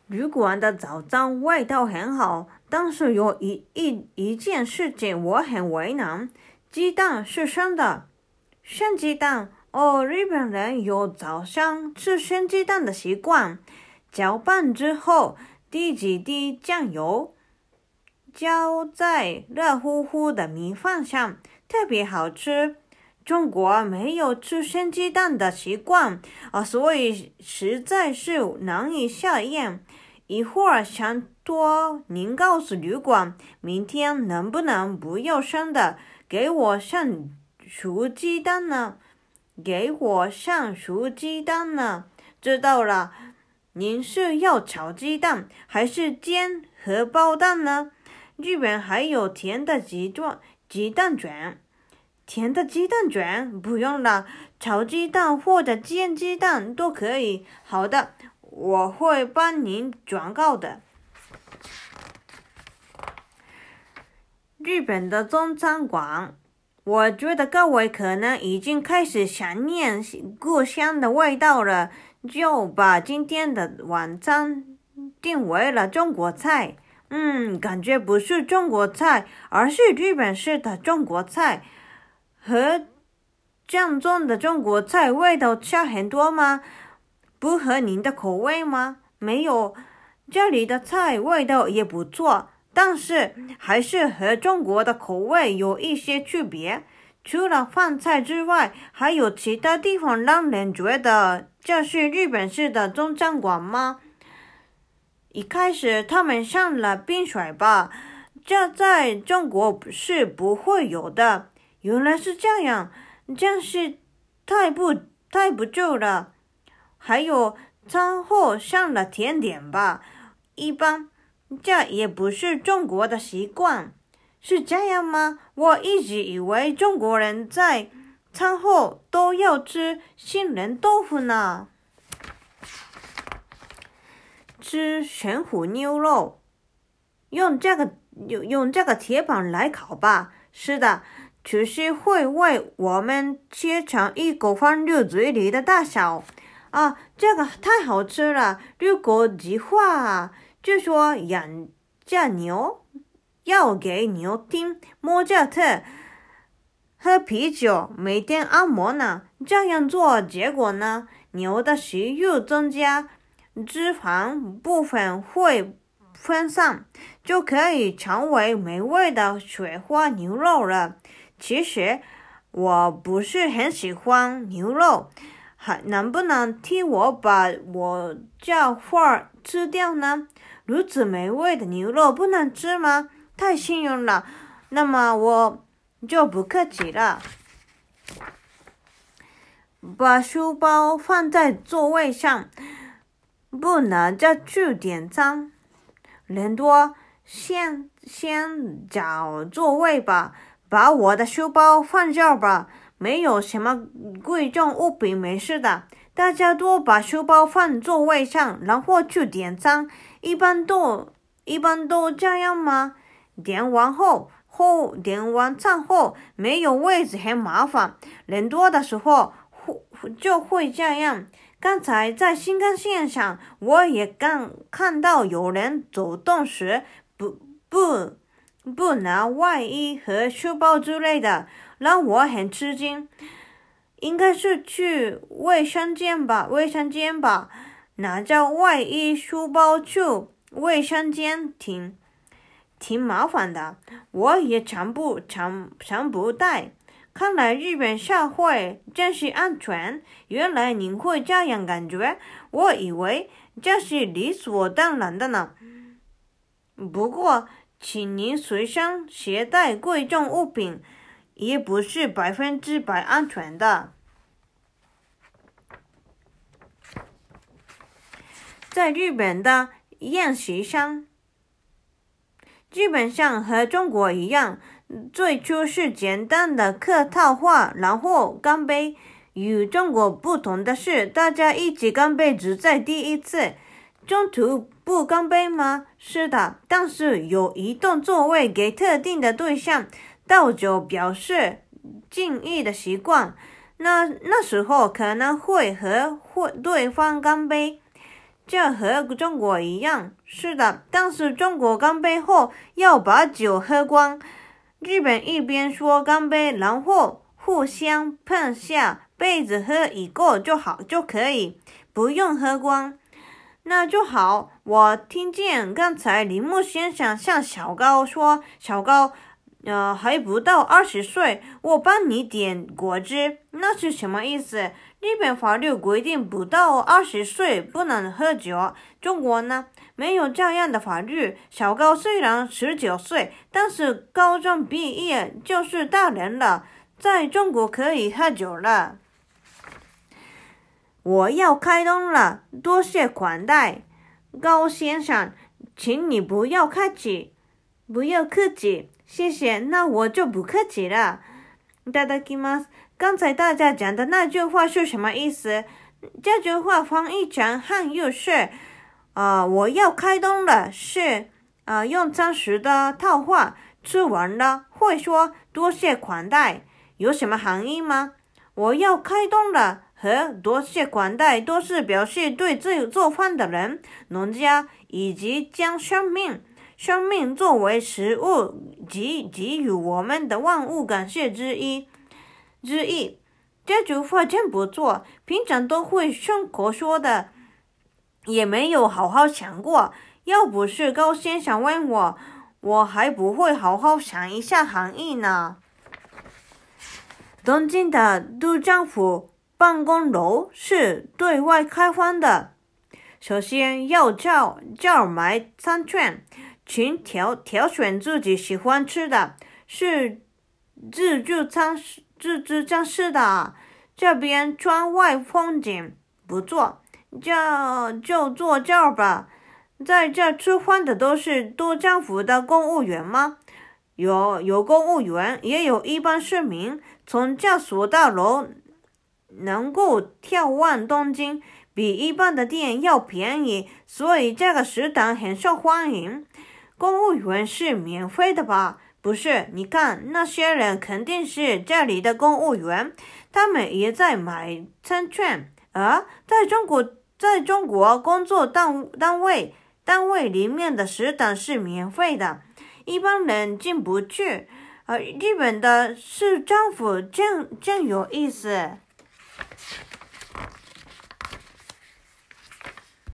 旅馆的早餐味道很好，但是有一件事情我很为难，鸡蛋是生的。生鸡蛋哦，日本人有早上吃生鸡蛋的习惯，搅拌之后滴几滴酱油，浇在热乎乎的米饭上，特别好吃。中国没有吃生鸡蛋的习惯所以实在是难以下咽。一会儿想托您告诉旅馆，明天能不能不要生的，给我上熟鸡蛋呢？给我上熟鸡蛋呢？知道了，您是要炒鸡蛋还是煎荷包蛋呢？日本还有甜的鸡蛋卷。甜的鸡蛋卷不用了，炒鸡蛋或者煎鸡蛋都可以。好的，我会帮您转告的。日本的中餐馆，我觉得各位可能已经开始想念故乡的味道了，就把今天的晚餐定为了中国菜。感觉不是中国菜，而是日本式的中国菜。和正宗的中国菜味道差很多吗？不合您的口味吗？没有，这里的菜味道也不错，但是还是和中国的口味有一些区别。除了饭菜之外，还有其他地方让人觉得这是日本式的中餐馆吗？一开始他们上了冰水吧，这在中国是不会有的。原来是这样，真是太不住了。还有餐后上了甜点吧，一般，这也不是中国的习惯。是这样吗？我一直以为中国人在餐后都要吃杏仁豆腐呢。吃神虎牛肉，用这个铁板来烤吧。是的。厨师会为我们切成一口放入嘴里的大小这个太好吃了。如果计划据说养这牛要给牛听莫扎特，喝啤酒，每天按摩呢。这样做结果呢？牛的食欲增加，脂肪部分会分散，就可以成为美味的雪花牛肉了。其实我不是很喜欢牛肉，能不能替我把我这块吃掉呢？如此美味的牛肉不能吃吗？太幸运了，那么我就不客气了。把书包放在座位上，不能再去点餐。人多，先找座位吧。把我的书包放这儿吧，没有什么贵重物品，没事的。大家都把书包放座位上，然后去点餐。一般都这样吗？点完餐后没有位置很麻烦，人多的时候就会这样。刚才在新干线上，我也看到有人走动时不拿外衣和书包之类的，让我很吃惊。应该是去卫生间吧，拿着外衣书包去卫生间挺麻烦的，我也常不带。看来日本社会真是安全，原来您会这样感觉，我以为这是理所当然的呢。不过请您随身携带贵重物品，也不是100%安全的。在日本的宴席上，基本上和中国一样，最初是简单的客套话，然后干杯。与中国不同的是，大家一起干杯只在第一次。中途不干杯吗？是的，但是有移动座位给特定的对象，倒酒表示敬意的习惯。那时候可能会和对方干杯。 这和中国一样。是的，但是中国干杯后要把酒喝光。日本一边说干杯，然后互相碰下杯子喝一个就可以，不用喝光。那就好。我听见刚才铃木先生向小高说，小高，还不到20岁，我帮你点果汁，那是什么意思？日本法律规定不到20岁不能喝酒，中国呢？没有这样的法律。小高虽然19岁，但是高中毕业就是大人了，在中国可以喝酒了。我要开动了，多谢款待。高先生，请你不要客气，谢谢，那我就不客气了。いただきます。刚才大家讲的那句话是什么意思？这句话翻译成汉语是我要开动了，是用餐时的套话，吃完了会说多谢款待，有什么含义吗？我要开动了和多谢款待都是表示对做饭的人、农家以及将生命作为食物给予我们的万物感谢之意。这句话真不错，平常都会顺口说的，也没有好好想过。要不是高先生问我，我还不会好好想一下含义呢。东京的都政府办公楼是对外开放的。首先要叫买餐券，请挑选自己喜欢吃的，是自助餐式的。这边窗外风景不错，就坐这儿吧。在这吃饭的都是都政府的公务员吗？有公务员，也有一般市民。从这所大楼能够眺望东京，比一般的店要便宜，所以这个食堂很受欢迎。公务员是免费的吧？不是，你看那些人肯定是这里的公务员，他们也在买餐券。在中国工作单位里面的食堂是免费的，一般人进不去。日本的市政府真有意思。